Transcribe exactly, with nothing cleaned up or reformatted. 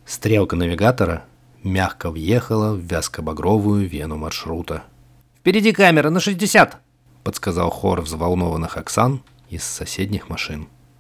Стрелка навигатора мягко въехала в вязко-багровую вену маршрута. «Впереди камера на шестьдесят!» — подсказал хор взволнованных Оксан из соседних машин.